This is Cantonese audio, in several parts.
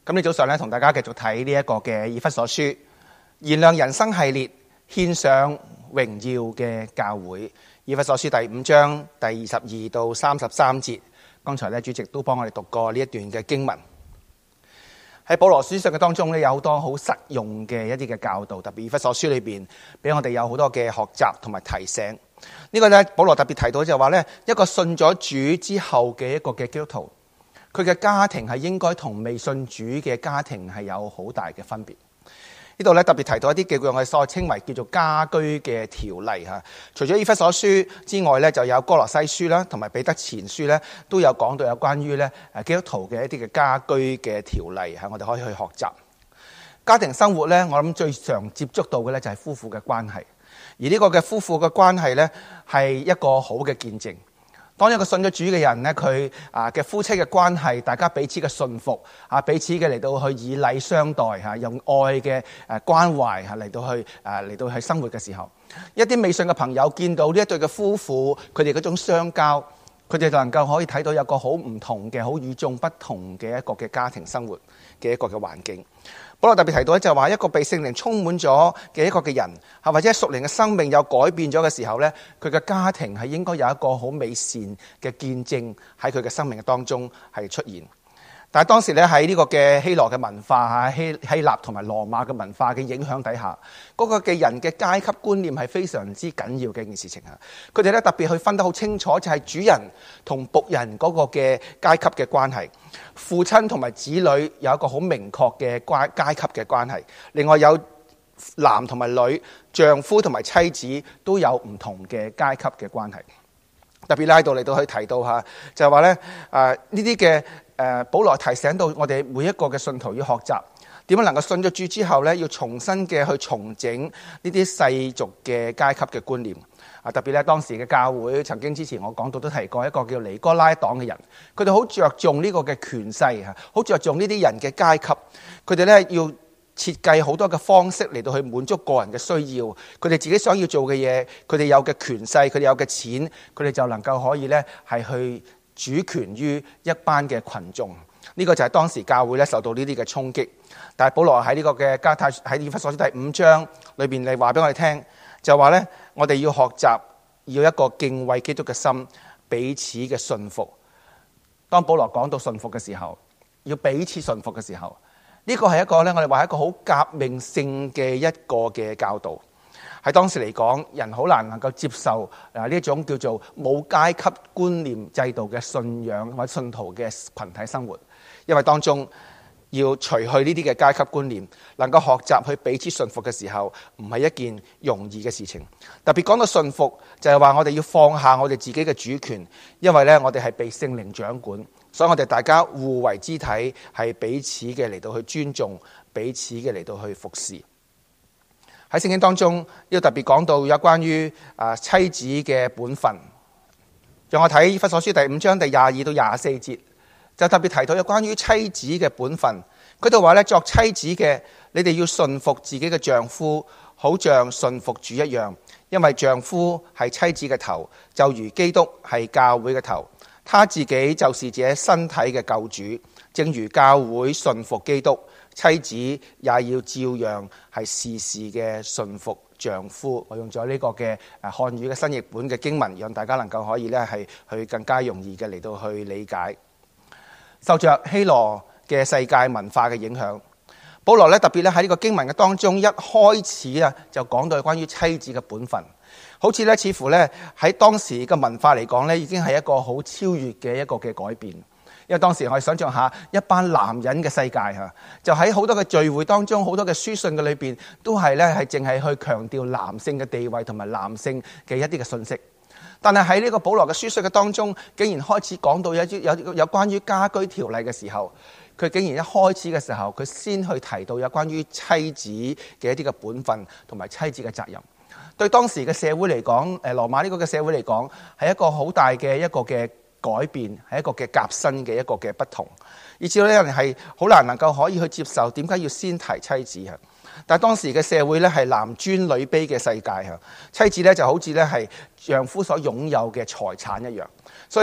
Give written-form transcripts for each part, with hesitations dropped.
今日早上咧，同大家繼續睇呢一個嘅以弗所書燃亮人生系列，獻上榮耀嘅教會。以弗所書第5章第22到33節，剛才咧主席都幫我哋讀過呢一段嘅經文。喺保羅書信嘅當中咧，有好多好實用嘅一啲嘅教導，特別以弗所書裏邊俾我哋有好多嘅學習同埋提醒。呢個咧保羅特別提到就話咧，一個信咗主之後嘅一個嘅基督徒，佢嘅家庭係應該同未信主嘅家庭係有好大嘅分別。呢度咧特別提到一啲叫我哋所稱為叫做家居嘅條例嚇。除咗以弗所書之外咧，就有哥羅西書啦，同埋彼得前書咧，都有講到有關於咧基督徒嘅一啲嘅家居嘅條例嚇，我哋可以去學習。家庭生活咧，我諗最常接觸到嘅咧就係夫婦嘅關係，而呢個嘅夫婦嘅關係咧係一個好嘅見證。當一個信咗主嘅人咧，佢嘅夫妻嘅關係，大家彼此嘅信服彼此嘅嚟到去以禮相待用愛嘅關懷嚟到去生活嘅時候，一啲未信嘅朋友見到呢一對嘅夫婦，佢哋嗰種相交，佢哋就能夠可以睇到有個好唔同嘅、好與眾不同嘅一個嘅家庭生活嘅一個嘅環境。保羅特別提到咧，就係話一個被聖靈充滿咗嘅一個嘅人，或者屬靈嘅生命有改變咗嘅時候咧，佢嘅家庭係應該有一個好美善嘅見證喺佢嘅生命嘅當中係出現。但係當時咧喺呢個嘅希羅嘅文化希臘同埋羅馬嘅文化嘅影響底下，嗰個嘅人嘅階級觀念係非常之緊要嘅一件事情啊！佢哋咧特別去分得好清楚，就係主人同僕人嗰個嘅階級嘅關係，父親同埋子女有一個好明確嘅階級嘅關係，另外有男同埋女、丈夫同埋妻子都有唔同嘅階級嘅關係。特別拉到嚟到去提到下，就係話咧呢啲嘅保羅提醒到我哋每一個嘅信徒要學習點樣能夠信咗主之後咧，要重新嘅去重整呢啲世俗嘅階級嘅觀念。特別咧當時嘅教會曾經之前我講到都提過一個叫尼哥拉黨嘅人，佢哋好着重呢個嘅權勢嚇，好着重呢啲人嘅階級，佢哋咧要設計好多嘅方式嚟到去滿足個人嘅需要，佢哋自己想要做嘅嘢，佢哋有嘅權勢，佢哋有嘅錢，佢哋就能夠可以咧係去主權於一班嘅群眾。呢個就係當時教會咧受到呢啲嘅衝擊。但係保羅喺呢個嘅加太喺以弗所書第5章裏邊嚟話俾我哋聽，就話咧我哋要學習要一個敬畏基督嘅心，彼此嘅順服。當保羅講到順服嘅時候，要彼此順服嘅時候，呢個係一個咧，我哋話係一個好革命性嘅一個嘅教導。喺當時嚟講，人好難能夠接受呢一種叫做冇階級觀念制度嘅信仰或者信徒嘅群體生活，因為當中要除去呢啲嘅階級觀念，能夠學習去彼此順服嘅時候，唔係一件容易嘅事情。特別講到順服，就係話我哋要放下我哋自己嘅主權，因為咧我哋係被聖靈掌管。所以我哋大家互為肢體，係彼此嘅嚟到去尊重，彼此嘅嚟到去服侍。喺聖經當中，要特別講到有關於妻子嘅本分。讓我睇以弗所書第5章第22到24節，就特別提到有關於妻子嘅本分。佢度話咧，作妻子嘅，你哋要順服自己嘅丈夫，好像順服主一樣，因為丈夫係妻子嘅頭，就如基督係教會嘅頭。他自己就是這身體嘅救主，正如教會順服基督，妻子也要照樣係事事嘅順服丈夫。我用咗呢個嘅漢語嘅新譯本嘅經文，讓大家能夠可以咧係去更加容易嘅嚟到去理解。受着希羅嘅世界文化嘅影響，保羅咧特別咧喺呢個經文嘅當中，一開始就講到關於妻子嘅本分。好似咧，似乎咧喺當時嘅文化嚟講咧，已經係一個好超越嘅一個嘅改變。因為當時我哋想象下一班男人嘅世界嚇，就喺好多嘅聚會當中，好多嘅書信嘅裏邊，都係咧係淨係去強調男性嘅地位同埋男性嘅一啲嘅信息。但係喺呢個保羅嘅書信嘅當中，竟然開始講到有關於家居條例嘅時候，佢竟然一開始嘅時候，佢先去提到有關於妻子嘅一啲嘅本分同埋妻子嘅責任。對當時嘅社會嚟講，羅馬呢個嘅社會嚟講，係一個好大嘅一個嘅改變，係一個嘅革新嘅一個嘅不同，以至到呢人係好難能夠可以去接受點解要先提妻子。但係當時嘅社會咧係男尊女卑嘅世界，妻子咧就好似咧係丈夫所擁有嘅財產一樣，所以咧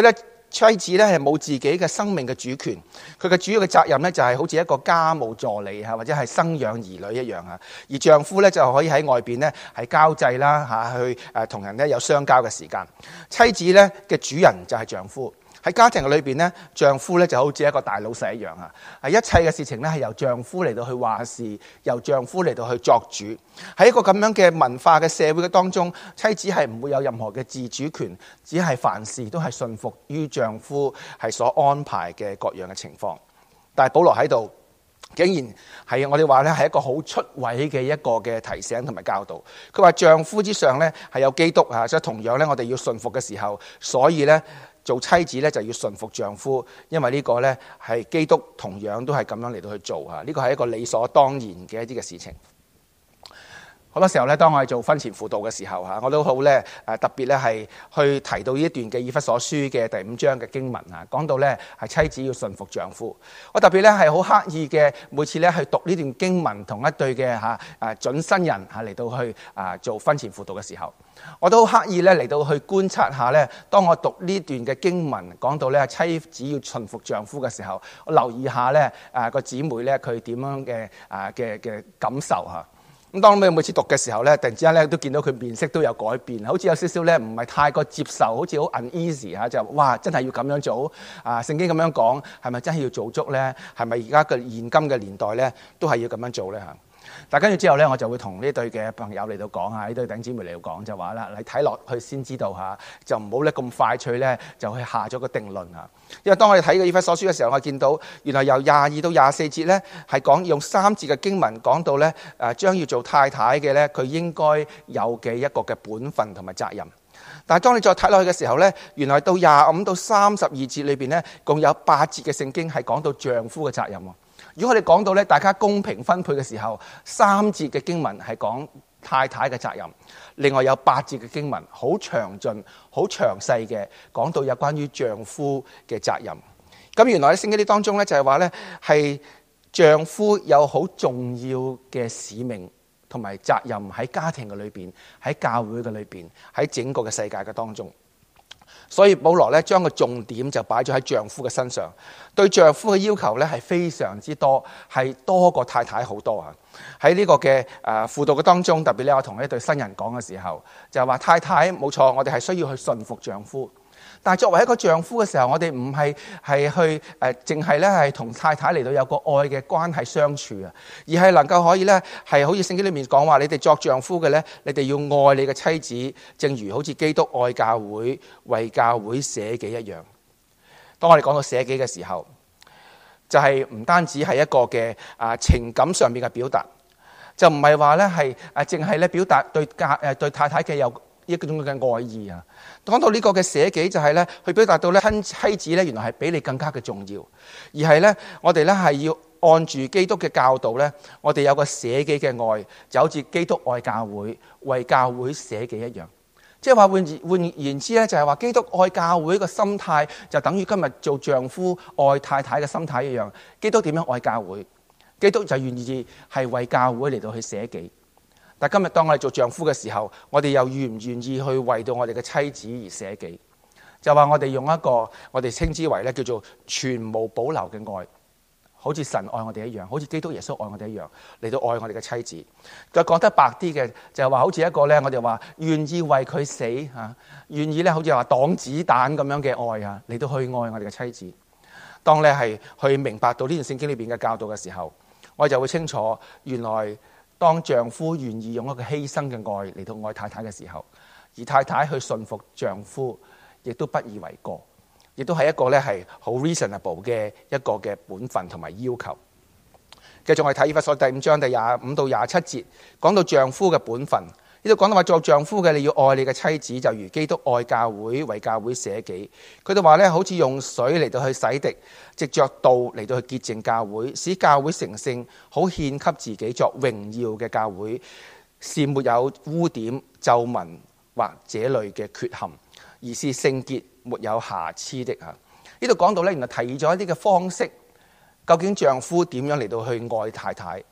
妻子咧係冇自己嘅生命嘅主權，佢嘅主要嘅責任咧就係好似一個家務助理或者係生養兒女一樣啊。而丈夫咧就可以喺外邊咧係交際啦去同人咧有相交嘅時間。妻子咧嘅主人就係丈夫。喺家庭嘅裏邊咧，丈夫咧就好似一個大老細一樣啊！一切嘅事情咧係由丈夫嚟到去話事，由丈夫嚟到去作主。喺一個咁樣嘅文化嘅社會嘅當中，妻子係唔會有任何嘅自主權，只係凡事都係順服於丈夫係所安排嘅各樣嘅情況。但係保羅喺度，竟然係我哋話咧係一個好出位嘅一個嘅提醒同埋教導。佢話丈夫之上咧係有基督啊，即係同樣咧我哋要順服嘅時候，所以咧。做妻子咧就要順服丈夫，因為呢個咧係基督同樣都係咁樣嚟到去做啊！呢個係一個理所當然嘅一啲嘅事情。好多時候咧，當我哋做婚前輔導嘅時候嚇，我都好咧特別咧係去提到呢一段嘅以弗所書嘅第5章嘅經文啊，講到咧係妻子要順服丈夫。我特別咧係好刻意嘅，每次咧去讀呢段經文，同一對嘅準新人嚟到去做婚前輔導嘅時候，我都好刻意咧嚟到去觀察下咧，當我讀呢段嘅經文講到咧妻子要順服丈夫嘅時候，我留意下咧個姊妹咧佢點樣嘅感受嚇。咁當你每次讀嘅時候咧，突然之間咧都見到佢面色都有改變，好似有少少咧唔係太過接受，好似好 uneasy 嚇，就哇真係要咁樣做啊！聖經咁樣講，係咪真係要做足咧？係咪而家嘅現今嘅年代咧都係要咁樣做咧嚇？但跟住之後咧，我就會同呢對嘅朋友嚟到講下，呢對弟兄姊妹嚟到講就話啦，你睇落去先知道嚇，就唔好咧咁快脆咧就去下咗個定論嚇。因為當我哋睇嘅以弗所書嘅時候，我見到原來由22到24節咧係講用3節嘅經文講到咧將要做太太嘅咧，佢應該有嘅一個嘅本分同埋責任。但係當你再睇落去嘅時候咧，原來到25到32節裏邊咧，共有8節嘅聖經係講到丈夫嘅責任喎。如果我哋講到咧，大家公平分配嘅時候，3節嘅經文係講太太嘅責任，另外有8節嘅經文好詳盡、好詳細嘅講到有關於丈夫嘅責任。咁原來喺聖經當中咧，就係話咧係丈夫有好重要嘅使命同埋責任喺家庭嘅裏邊，喺教會嘅裏邊，喺整個嘅世界嘅當中。所以保羅咧將個重點就擺咗喺丈夫嘅身上，對丈夫嘅要求咧係非常之多，係多過太太好多啊！喺呢個嘅輔導嘅當中，特別咧我同一對新人講嘅時候，就係話太太冇錯，我哋係需要去順服丈夫。但係作為一個丈夫嘅時候，我哋唔係去淨係咧係同太太嚟到有個愛嘅關係相處啊，而係能夠可以咧係好似聖經裏面講話，你哋作丈夫嘅咧，你哋要愛你嘅妻子，正如好似基督愛教會，為教會捨己一樣。當我哋講到捨己嘅時候，就係唔單止係一個嘅情感上面嘅表達，就唔係話咧係淨係咧表達對太太嘅有一種嘅愛意啊。講到呢個嘅捨己，就係咧去表達到咧妻子咧原來係比你更加嘅重要，而係咧我哋咧係要按住基督嘅教導咧，我哋有個捨己嘅愛，就好似基督愛教會，為教會捨己一樣。即係話換言之咧，就係話基督愛教會嘅心態就等於今日做丈夫愛太太嘅心態一樣。基督點樣愛教會？基督就願意係為教會嚟到去捨己。但今日當我哋做丈夫嘅時候，我哋又願唔願意去為到我哋嘅妻子而捨己？就話我哋用一個我哋稱之為咧叫做全無保留嘅愛，好似神愛我哋一樣，好似基督耶穌愛我哋一樣嚟到愛我哋嘅妻子。再講得白啲嘅，就係話好似一個咧，我哋話願意為佢死嚇，願意咧好似話擋子彈咁樣嘅愛啊，嚟到去愛我哋嘅妻子。當咧係去明白到呢段聖經裏邊嘅教導嘅時候，我就會清楚原來。當丈夫願意用一個犧牲嘅愛嚟到愛太太嘅時候，而太太去順服丈夫，亦都不以為過，亦都係一個咧係好 reasonable 嘅一個嘅本分同埋要求。繼續我哋睇以弗所第5章第25到27節，講到丈夫嘅本分。呢度講到話做丈夫嘅你要愛你嘅妻子，就如基督愛教會，為教會捨己。佢哋話咧，好似用水嚟到去洗滌，藉着道嚟到去潔淨教會，使教會成聖，好獻給自己作榮耀嘅教會，是沒有污點、皺紋或這類嘅缺陷，而是聖潔、沒有瑕疵的。呢度講到咧，原來提咗一啲嘅方式，究竟丈夫點樣嚟到去愛太太？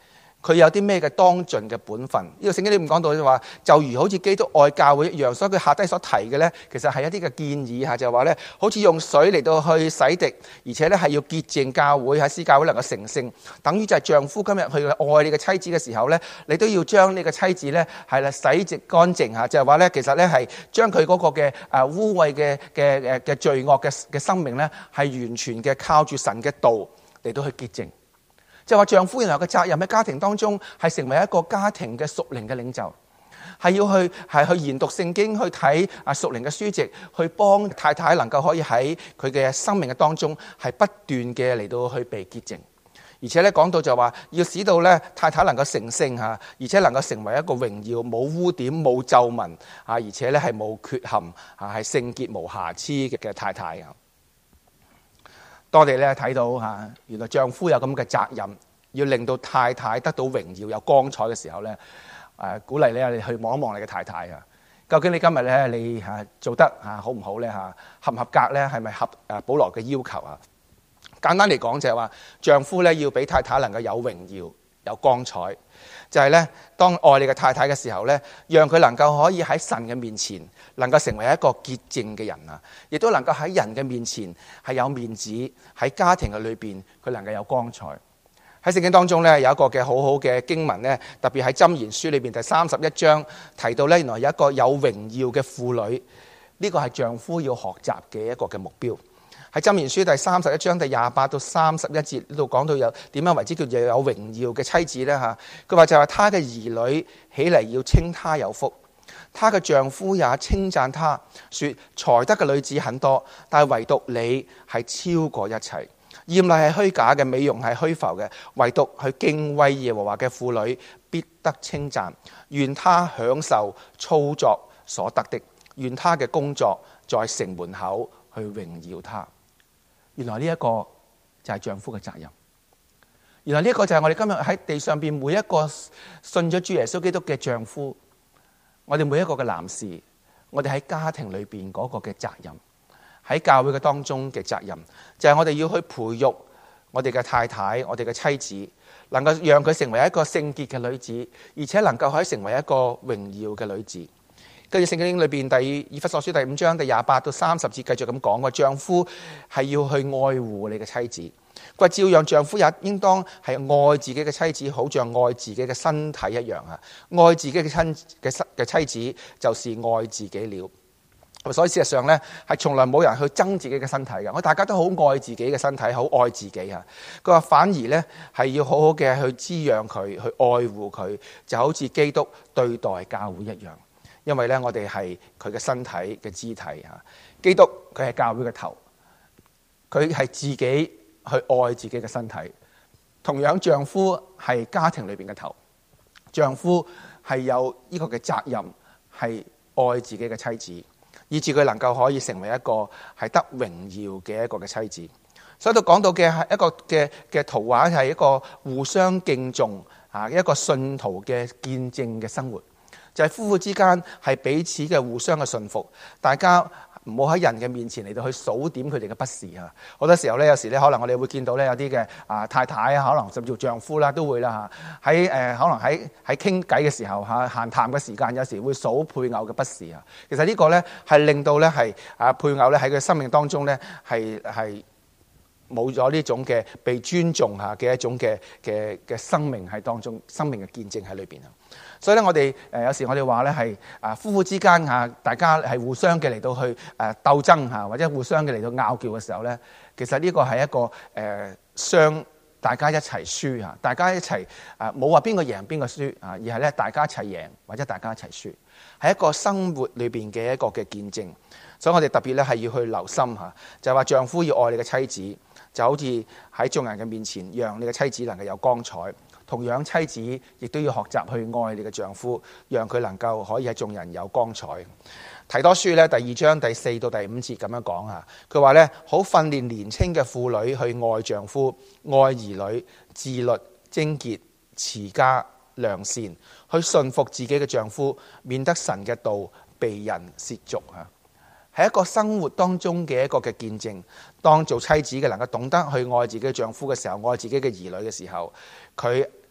佢有啲咩嘅當盡嘅本分。呢個聖經裏面講到就話，就如好似基督愛教會一樣，所以佢下低所提嘅呢，其實係一啲嘅建議嚇，就係話呢，好似用水嚟到去洗滌，而且呢係要潔淨教會，喺使教會能夠成聖，等於就係丈夫今日去愛你嘅妻子嘅時候呢，你都要將你嘅妻子呢係啦洗淨乾淨嚇，就係話呢，其實呢係將佢嗰個嘅污穢嘅罪惡嘅生命呢，係完全嘅靠住神嘅道嚟到去潔淨。就話丈夫原來嘅責任喺家庭當中係成為一個家庭嘅屬靈嘅領袖，係要去研讀聖經，去睇屬靈嘅書籍，去幫太太能夠可以喺佢嘅生命嘅當中係不斷嘅嚟到去被潔淨，而且咧講到就話要使到咧太太能夠成聖嚇，而且能夠成為一個榮耀冇污點冇皺紋啊，而且咧係冇缺陷啊，係聖潔無瑕疵嘅太太啊。當我哋咧睇到嚇，原來丈夫有咁嘅責任，要令到太太得到榮耀有光彩嘅時候咧，鼓勵你去望一望你嘅太太啊，究竟你今日咧你做得好唔好咧嚇，合唔合格咧，係咪合保羅嘅要求啊？簡單嚟講就係話，丈夫咧要俾太太能夠有榮耀有光彩，就係咧當愛你嘅太太嘅時候咧，讓佢能夠可以喺神嘅面前能夠成為一個潔淨嘅人啊，亦都能夠喺人嘅面前係有面子，喺家庭嘅裏邊佢能夠有光彩。喺聖經當中咧有一個嘅好好嘅經文咧，特別喺箴言書裏邊第31章提到咧，原來有一個有榮耀嘅婦女，呢個係丈夫要學習嘅一個嘅目標。喺箴言書第31章第28到31節呢度講到有點樣為之叫做有榮耀嘅妻子咧嚇，佢話就係他嘅兒女起嚟要稱他有福，他嘅丈夫也稱讚他，說才德嘅女子很多，但係唯獨你係超過一切。豔麗係虛假嘅，美容係虛浮嘅，唯獨去敬畏耶和華嘅婦女必得稱讚。願他享受操作所得的，願他嘅工作在城門口去榮耀他。原來呢一個就係丈夫嘅責任。原來呢一個就係我哋今日喺地上邊每一個信咗主耶穌基督嘅丈夫，我哋每一個嘅男士，我哋喺家庭裏邊嗰個嘅責任，喺教會嘅當中嘅責任，就係我哋要去培育我哋嘅太太，我哋嘅妻子，能夠讓佢成為一個聖潔嘅女子，而且能夠可以成為一個榮耀嘅女子。跟住聖經裏邊以弗所書第5章第28到30節繼續咁講，話丈夫係要去愛護你嘅妻子，佢話照樣丈夫也應當係愛自己嘅妻子，好像愛自己嘅身體一樣啊！愛自己嘅妻子就是愛自己了。所以事實上呢，係從來冇人去憎自己嘅身體嘅，我大家都好愛自己嘅身體，好愛自己啊！佢話反而呢，係要好好嘅去滋養佢，去愛護佢，就好似基督對待教會一樣。因為咧，我哋係佢嘅身體嘅肢體嚇。基督佢係教會嘅頭，佢係自己去愛自己嘅身體。同樣，丈夫係家庭裏邊嘅頭，丈夫係有呢個嘅責任，係愛自己嘅妻子，以致佢能夠可以成為一個係得榮耀嘅一個嘅妻子。所以都講到嘅係一個嘅圖畫，係一個互相敬重啊，一個信徒嘅見證嘅生活。就係夫婦之間係彼此嘅互相嘅信服，大家唔好喺人嘅面前嚟到去數點佢哋嘅不是啊！好多時候咧，有時咧可能我哋會見到咧有啲嘅太太啊，可能甚至乎丈夫啦都會啦嚇，喺可能喺傾偈嘅時候嚇，閒談嘅時間，有時會數配偶嘅不是啊！其實呢個咧係令到咧係配偶咧喺佢生命當中咧係冇咗呢種嘅被尊重下嘅一種嘅生命喺當中，生命嘅見證喺裏邊啊！所以咧，我哋有時我哋話咧係夫婦之間大家係互相嘅嚟到去鬥爭嚇，或者互相嘅嚟到拗撬嘅時候咧，其實呢個係一個大家一齊輸嚇，大家一齊冇話邊個贏邊個輸啊，而係咧大家一齊贏或者大家一齊輸，係一個生活裏邊嘅一個嘅見證。所以我哋特別咧係要去留心嚇，就係話丈夫要愛你嘅妻子，就好似喺眾人嘅面前，讓你嘅妻子能夠有光彩。同樣妻子亦都要學習去愛你嘅丈夫，讓佢能夠可以喺眾人有光彩。提多書咧第2章第4到第5節咁樣講嚇，佢話咧好訓練年輕嘅婦女去愛丈夫、愛兒女、自律、貞潔、持家、良善，去順服自己嘅丈夫，免得神嘅道被人褻瀆嚇。係一個生活當中嘅一個嘅見證。當做妻子嘅能夠懂得去愛自己嘅丈夫嘅時候，愛自己嘅兒女嘅時候，佢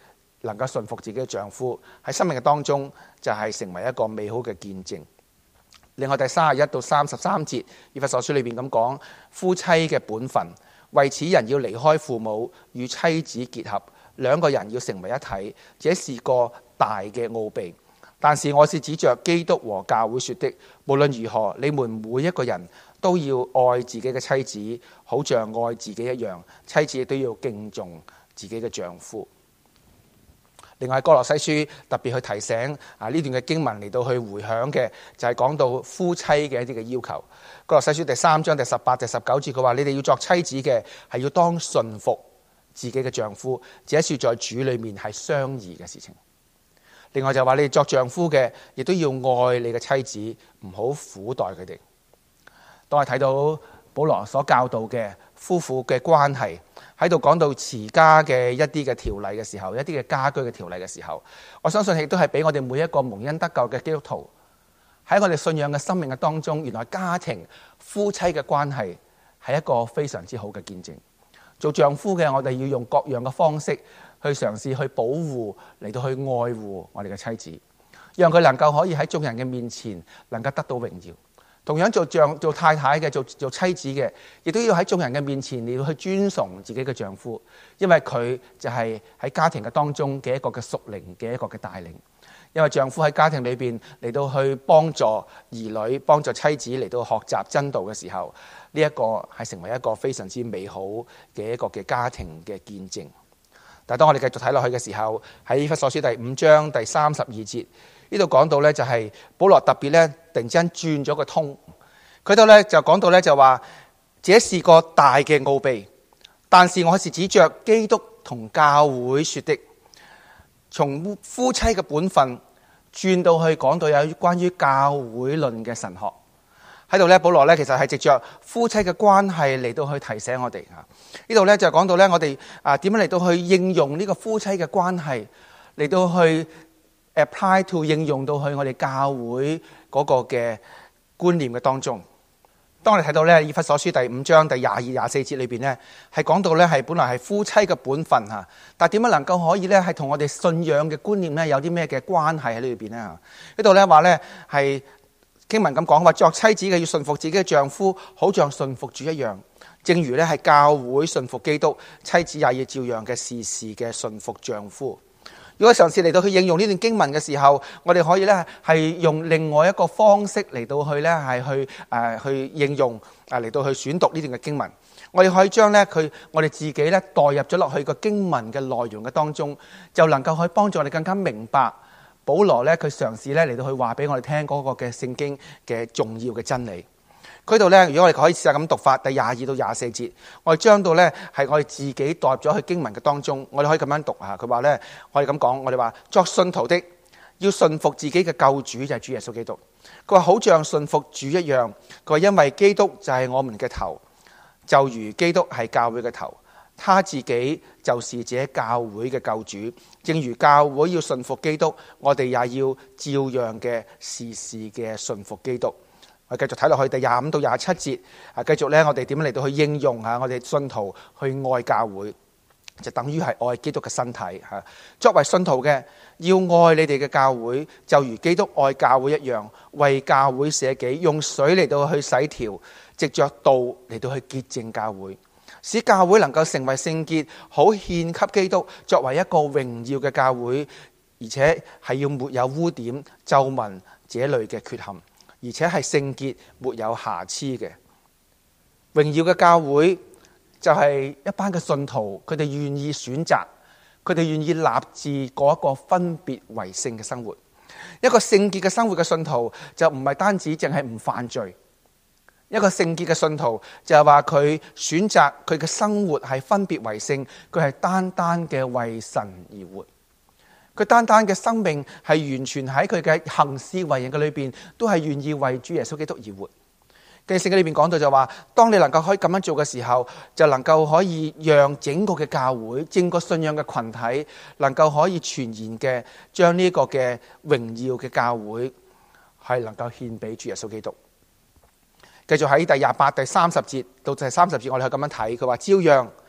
能夠順服自己嘅丈夫，喺生命嘅當中就係成為一個美好嘅見證。另外第31到33節，以弗所書裏邊咁講，夫妻嘅本分，為此人要離開父母，與妻子結合，兩個人要成為一體，這是個大嘅奧秘。但是我是指着基督和教會說的，無論如何，你們每一個人都要愛自己嘅妻子，好像愛自己一樣，妻子亦都要敬重自己嘅丈夫。另外，歌羅西書特別去提醒呢段嘅經文嚟到去回響嘅，就係講到夫妻嘅一啲嘅要求。歌羅西書第3章第18、第19節，佢話：你哋要作妻子嘅，係要當順服自己嘅丈夫，這是在主裏面係相宜嘅事情。另外就話你哋作丈夫嘅，亦都要愛你嘅妻子，唔好苦待佢哋。當我睇到保羅所教導嘅夫婦嘅關係，喺度講到持家嘅一啲嘅條例嘅時候，一啲嘅家居嘅條例嘅時候，我相信亦都係俾我哋每一個蒙恩得救嘅基督徒喺我哋信仰嘅生命嘅當中，原來家庭夫妻嘅關係係一個非常之好嘅見證。做丈夫嘅，我哋要用各樣嘅方式去嘗試去保護，嚟到去愛護我哋嘅妻子，讓佢能夠可以喺眾人嘅面前能夠得到榮耀。同樣做太太嘅，做妻子嘅，亦都要喺眾人嘅面前嚟到去尊崇自己嘅丈夫，因為佢就係喺家庭嘅當中嘅一個嘅屬靈嘅一個嘅帶領。因為丈夫喺家庭裏邊嚟到去幫助兒女、幫助妻子嚟到學習真道嘅時候，呢一個係成為一個非常之美好嘅一個嘅家庭嘅見證。但係當我哋繼續睇落去嘅時候，喺以弗所書第5章第32節呢度講到呢，就係保羅特別呢突然之間轉咗個通，佢度呢就講到呢，就話，這是個大嘅奧秘，但是我是指着基督同教會說的。從夫妻嘅本分轉到去講到有關於教會論嘅神學喺度呢，保羅呢其實係藉着夫妻嘅關係嚟到去提醒我哋啊。呢度呢就講到呢，我哋點樣嚟到去應用呢個夫妻嘅關係嚟到去 apply to 應用到去我哋教會嗰個嘅觀念嘅當中。當我哋睇到咧，以弗所書第5章第22、24節裏邊咧，係講到咧係本來係夫妻嘅本分嚇，但係點樣能夠可以咧係同我哋信仰嘅觀念咧有啲咩嘅關係喺呢裏邊咧？呢度咧話咧係經文咁講話，作妻子嘅要順服自己嘅丈夫，好像順服主一樣。正如咧係教會順服基督，妻子也要照樣嘅事事嘅順服丈夫。如果嘗試嚟到去應用呢段經文嘅時候，我哋可以咧係用另外一個方式嚟到去咧係去應用嚟到去選讀呢段嘅經文。我哋可以將咧我哋自己咧代入咗落去個經文嘅內容嘅當中，就能夠去幫助我哋更加明白保羅咧佢嘗試咧嚟到去話俾我哋聽嗰個嘅聖經嘅重要嘅真理。佢度咧，如果我哋可以試下咁讀法，第22到24節，我哋將到咧係我哋自己代入咗去經文嘅當中，我哋可以咁樣讀嚇。佢話咧，我哋咁講，我哋話作信徒的要順服自己嘅救主，就係主耶穌基督。佢話好像順服主一樣。佢話因為基督就係我們嘅頭，就如基督係教會嘅頭，他自己就是這教會嘅救主。正如教會要順服基督，我哋也要照樣嘅事事嘅順服基督。我繼續睇落去第25到27節，繼續咧，我哋點樣嚟到去應用下我哋信徒去愛教會，就等於係愛基督嘅身體嚇。作為信徒嘅，要愛你哋嘅教會，就如基督愛教會一樣，為教會捨己，用水嚟到去洗調，藉着道嚟到去潔淨教會，使教會能夠成為聖潔，好獻給基督，作為一個榮耀嘅教會，而且係要沒有污點、皺紋這類嘅缺陷。而且係聖潔沒有瑕疵嘅榮耀嘅教會，就係一班嘅信徒，佢哋願意選擇，佢哋願意立志過一個分別為聖嘅生活。一個聖潔嘅生活嘅信徒，就唔係單止淨係唔犯罪。一個聖潔嘅信徒就係話佢選擇佢嘅生活係分別為聖，佢係單單嘅為神而活。佢單單嘅生命係完全喺佢嘅行事為人嘅裏邊，都係願意為主耶穌基督而活。跟住聖經裏邊講到就話，當你能夠可以咁樣做嘅時候，就能夠可以讓整個嘅教會、整個信仰嘅群體，能夠可以全然嘅將呢個嘅榮耀嘅教會係能夠獻俾主耶穌基督。繼續喺第28、第30節到第30節，我哋可以咁樣睇，佢話照樣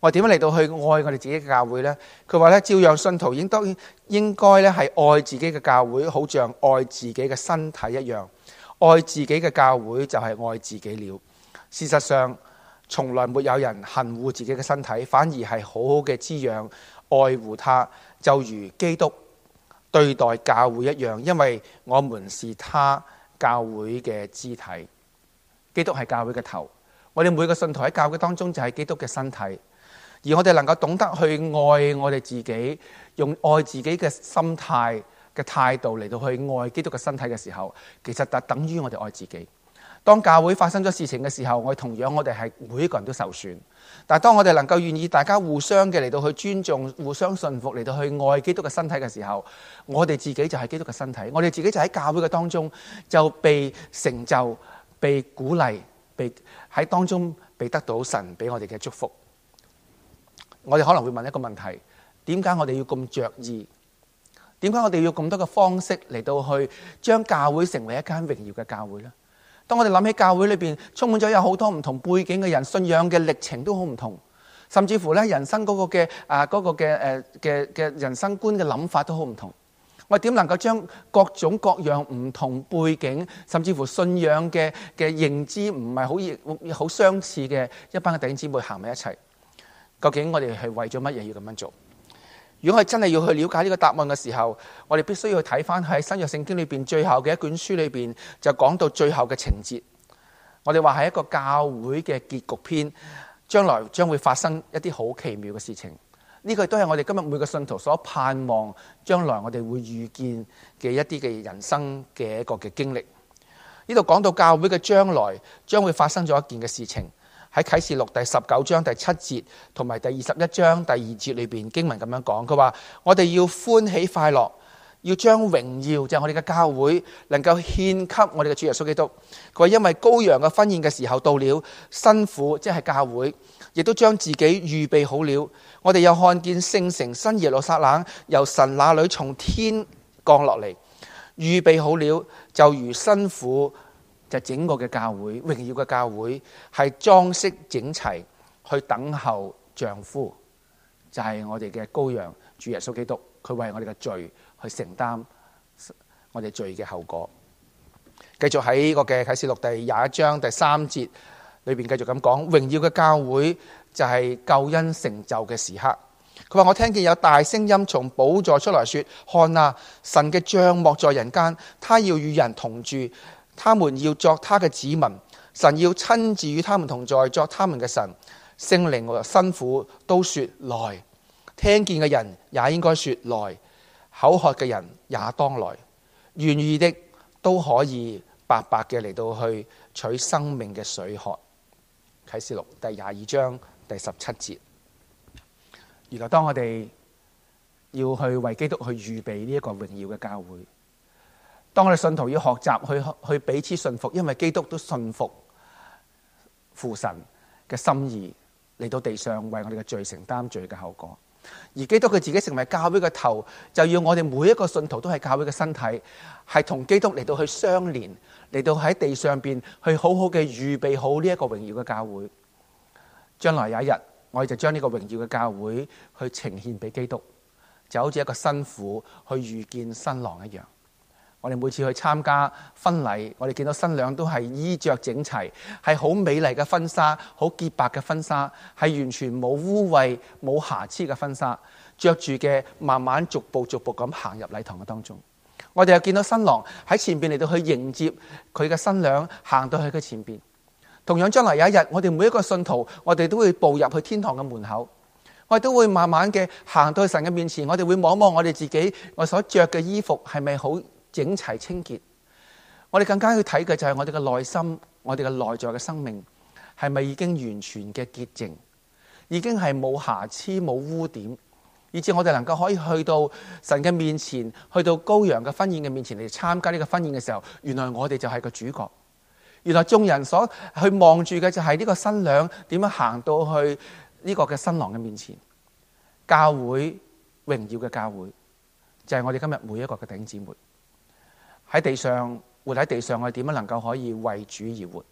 我點樣嚟到去愛我哋自己嘅教會呢？佢話咧，照樣信徒應該咧係愛自己嘅教會，好像愛自己嘅身體一樣。愛自己嘅教會就係愛自己了。事實上，從來沒有人恨惡自己嘅身體，反而係好好嘅滋養、愛護它，就如基督對待教會一樣，因為我們是他教會嘅肢體。基督係教會嘅頭，我哋每個信徒喺教會當中就係基督嘅身體，而我哋能夠懂得去愛我哋自己，用愛自己嘅心態嘅態度嚟到去愛基督嘅身體嘅時候，其實就等於我哋愛自己。當教會發生咗事情嘅時候，我哋係每一個人都受損。但係當我哋能夠願意大家互相嘅嚟到去尊重、互相信服嚟到去愛基督嘅身體嘅時候，我哋自己就係基督嘅身體，我哋自己就喺教會嘅當中就被成就、被鼓勵、被喺當中被得到神俾我哋嘅祝福。我哋可能會問一個問題：點解我哋要咁着意？點解我哋要咁多嘅方式嚟到去將教會成為一間榮耀嘅教會呢？當我哋諗起教會裏邊充滿咗有好多唔同背景嘅人，信仰嘅歷程都好唔同，甚至乎咧人生嗰個嘅人生觀嘅諗法都好唔同。我哋點能夠將各種各樣唔同背景，甚至乎信仰嘅認知唔係好相似嘅一班嘅弟兄姊妹行埋一齊？究竟我哋係為咗乜嘢要咁樣做？如果我哋真係要去了解呢個答案嘅時候，我哋必須要去睇翻喺新約聖經裏邊最後嘅一卷書裏邊，就講到最後嘅情節。我哋話係一個教會嘅結局篇，將來將會發生一啲好奇妙嘅事情。呢個都係我哋今日每個信徒所盼望，將來我哋會遇見嘅一啲嘅人生嘅一個嘅經歷。呢度講到教會嘅將來將會發生咗一件嘅事情。喺啟示錄第19章第7節同埋第21章第2節裏邊經文咁樣講，佢話我哋要歡喜快樂，要將榮耀就係我哋嘅教會能夠獻給我哋嘅主耶穌基督。佢話因為羔羊嘅婚宴嘅時候到了，新婦即係教會亦都將自己預備好了。我哋又看見聖城新耶路撒冷由神那裏從天降落嚟，預備好了，就如新婦。就整個嘅教會，榮耀嘅教會係裝飾整齊，去等候丈夫，就係我哋嘅羔羊主耶穌基督，佢為我哋嘅罪去承擔我哋罪嘅後果。繼續喺呢個嘅啟示錄第21章第3節裏邊繼續咁講，榮耀嘅教會就係救恩成就嘅時刻。佢話我聽見有大聲音從寶座出來說：看啊，神嘅帳幕在人間，他要與人同住。他們要作他嘅子民，神要親自與他們同在，作他們嘅神。聖靈和新婦都說來，聽見嘅人也應該說來，口渴嘅人也當來，願意的都可以白白嘅嚟到去取生命嘅水喝。啟示錄第22章第17節。原來當我哋要去為基督去預備呢一個榮耀嘅教會，當我哋信徒要學習去彼此信服，因為基督都信服父神嘅心意嚟到地上為我哋嘅罪承擔罪嘅後果。而基督佢自己成為教會嘅頭，就要我哋每一個信徒都係教會嘅身體，係同基督嚟到去相連，嚟到喺地上邊去好好嘅預備好呢一個榮耀嘅教會。將來有一日，我哋就將呢個榮耀嘅教會去呈獻俾基督，就好似一個新婦去遇見新郎一樣。我哋每次去參加婚禮，我哋見到新娘都係衣着整齊，係好美麗嘅婚紗，好潔白嘅婚紗，係完全冇污穢、冇瑕疵嘅婚紗，着住嘅慢慢逐步咁行入禮堂嘅當中。我哋又見到新郎喺前邊嚟到去迎接佢嘅新娘，行到去佢前邊。同樣將來有一日，我哋每一個信徒，我哋都會步入去天堂嘅門口，我哋都會慢慢嘅行到去神嘅面前，我哋會望望我哋自己，我所着嘅衣服係咪好整齊清潔？我哋更加要睇嘅就係我哋嘅內心，我哋嘅內在嘅生命係咪已經完全嘅潔淨，已經係冇瑕疵冇污點，以致我哋能夠可以去到神嘅面前，去到羔羊嘅婚宴嘅面前嚟參加呢個婚宴嘅時候，原來我哋就係個主角。原來眾人所去望住嘅就係呢個新娘點樣行到去呢個嘅新郎嘅面前。教會，榮耀嘅教會就係我哋今日每一個嘅弟兄姊妹喺地上活喺地上，我哋點樣能夠可以為主而活？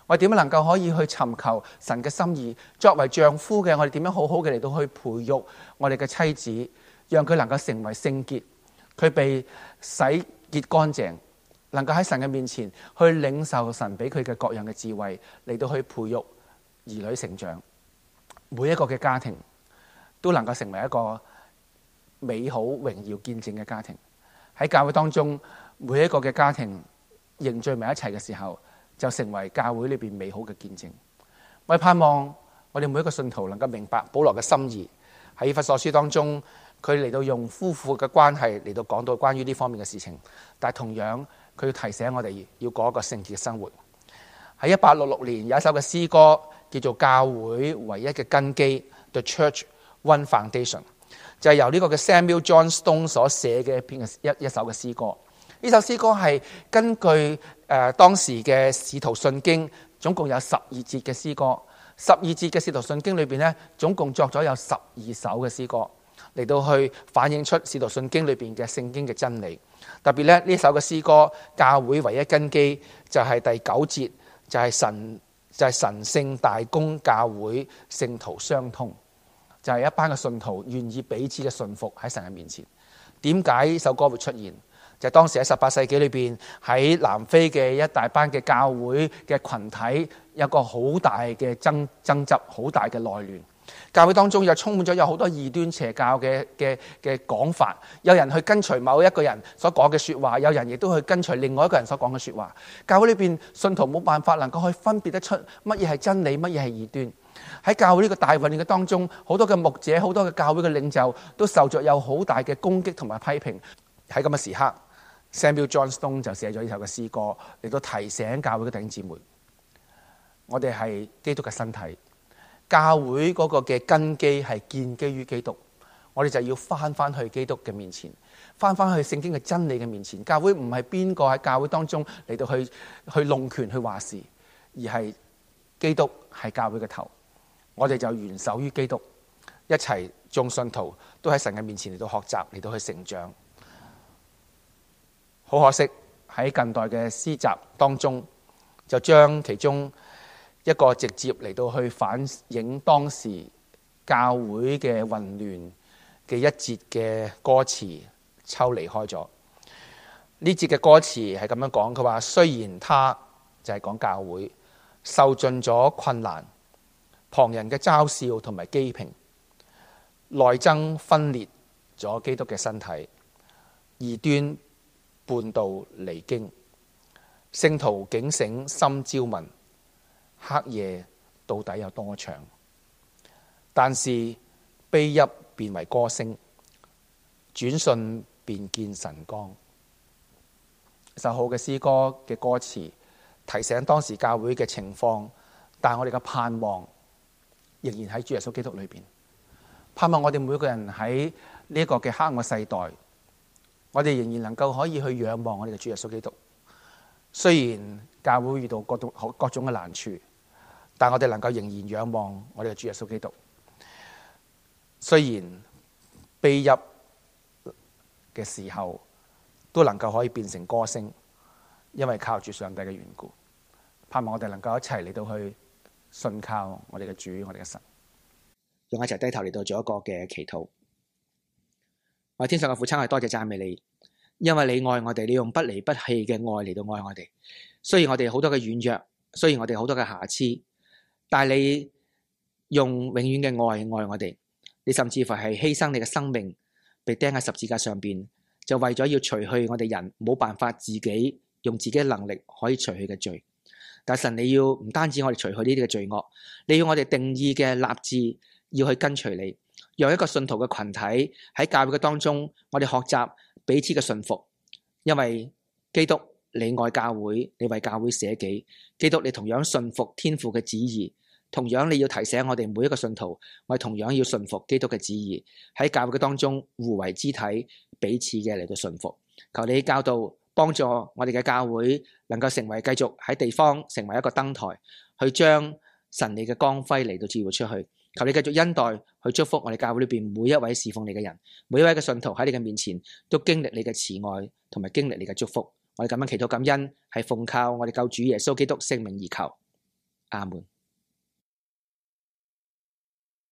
我哋點樣能夠可以去尋求神嘅心意？作為丈夫嘅我哋點樣好好嘅嚟到去培育我哋嘅妻子，讓佢能夠成為聖潔，佢被洗潔乾淨，能夠喺神嘅面前去領受神俾佢嘅各樣嘅智慧，嚟到去培育兒女成長。每一個嘅家庭都能夠成為一個美好榮耀見證嘅家庭。喺教會當中，每一個嘅家庭凝聚埋一齊嘅時候，就成為教會裏邊美好嘅見證。我哋盼望我哋每一個信徒能夠明白保羅嘅心意。喺以弗所書當中，佢嚟到用夫婦嘅關係嚟到講到關於呢方面嘅事情，但係同樣佢要提醒我哋要過一個聖潔嘅生活。喺1866年有一首嘅詩歌叫做《教會唯一嘅根基》The Church One Foundation， 就係由呢個嘅 Samuel John Stone 所寫嘅一首嘅詩歌。呢首詩歌係根據當時嘅使徒信經，總共有12節嘅詩歌。12節嘅使徒信經裏邊呢，總共作咗有12首嘅詩歌，嚟到去反映出使徒信經裏邊嘅聖經嘅真理。特別咧，呢首嘅詩歌教會唯一根基就係第9節，就係神聖大公教會聖徒相通，就係一班嘅信徒願意彼此嘅信服喺神嘅面前。點解呢首歌會出現？就係當時喺18世紀裏邊，喺南非嘅一大班嘅教會嘅群體有個好大嘅爭執，好大嘅內亂。教會當中又充滿咗有好多異端邪教嘅講法，有人去跟隨某一個人所講嘅說話，有人亦都去跟隨另外一個人所講嘅說話。教會裏邊信徒冇辦法能夠去分別得出乜嘢係真理，乜嘢係異端。喺教會呢個大混亂嘅當中，好多嘅牧者，好多嘅教會嘅領袖都受着有好大嘅攻擊同埋批評。喺咁嘅時刻，Samuel John Stone 就寫咗呢首嘅詩歌嚟到提醒教會嘅弟兄姊妹，我哋係基督嘅身體。教會嗰個嘅根基係建基於基督，我哋就要翻去基督嘅面前，翻去聖經嘅真理嘅面前。教會唔係邊個喺教會當中嚟到去弄權去話事，而係基督係教會嘅頭。我哋就元首於基督，一齊眾信徒都喺神嘅面前嚟到學習，嚟到去成長。好可惜喺近代嘅詩集當中，就將其中一個直接嚟到去反映當時教會嘅混亂嘅一節嘅歌詞抽離開咗。呢節嘅歌詞係咁樣講，佢話雖然他就係講教會受盡咗困難，旁人嘅嘲笑同埋譏評，內爭分裂咗基督嘅身體，異端叛道離經，聖徒警醒心焦問，黑夜到底有多長？但是悲泣變為歌聲，轉瞬便見晨光。首好嘅詩歌嘅歌詞提醒當時教會嘅情況，但我哋嘅盼望仍然喺主耶穌基督裏邊。盼望我哋每個人喺呢一個嘅黑暗嘅世代，我哋仍然能夠可以去仰望我哋嘅主耶穌基督。雖然教會遇到各種嘅難處，但我哋能夠仍然仰望我哋嘅主耶穌基督。雖然悲泣嘅時候都能夠可以變成歌聲，因為靠住上帝嘅緣故。盼望我哋能夠一齊嚟到去信靠我哋嘅主，我哋嘅神。用一齊低頭嚟到做一個嘅祈禱。我天上嘅父親，係多謝讚美你，因為你愛我哋，你用不離不棄嘅愛嚟到愛我哋。雖然我哋好多嘅軟弱，雖然我哋好多嘅瑕疵，但係你用永遠嘅愛愛我哋。你甚至乎係犧牲你嘅生命，被釘喺十字架上邊，就為咗要除去我哋人冇辦法自己用自己嘅能力可以除去嘅罪。但神，你要唔單止我哋除去呢啲嘅罪惡，你要我哋定義嘅立志要去跟隨你，讓一個信徒嘅群體喺教會嘅當中，我哋學習彼此嘅順服。因為基督你愛教會，你為教會捨己，基督你同樣順服天父嘅旨意。同樣你要提醒我哋每一個信徒，我哋同樣要順服基督嘅旨意，喺教會嘅當中互為肢體，彼此嘅嚟到順服。求你教導幫助我哋嘅教會能夠成為繼續喺地方成為一個燈台，去將神你嘅光輝嚟到照耀出去。求你繼續恩待去祝福我哋教會裏邊每一位侍奉你嘅人，每一位嘅信徒喺你嘅面前都經歷你嘅慈愛同埋經歷你嘅祝福。我哋咁樣祈禱感恩，係奉靠我哋救主耶穌基督聖名而求， 阿門。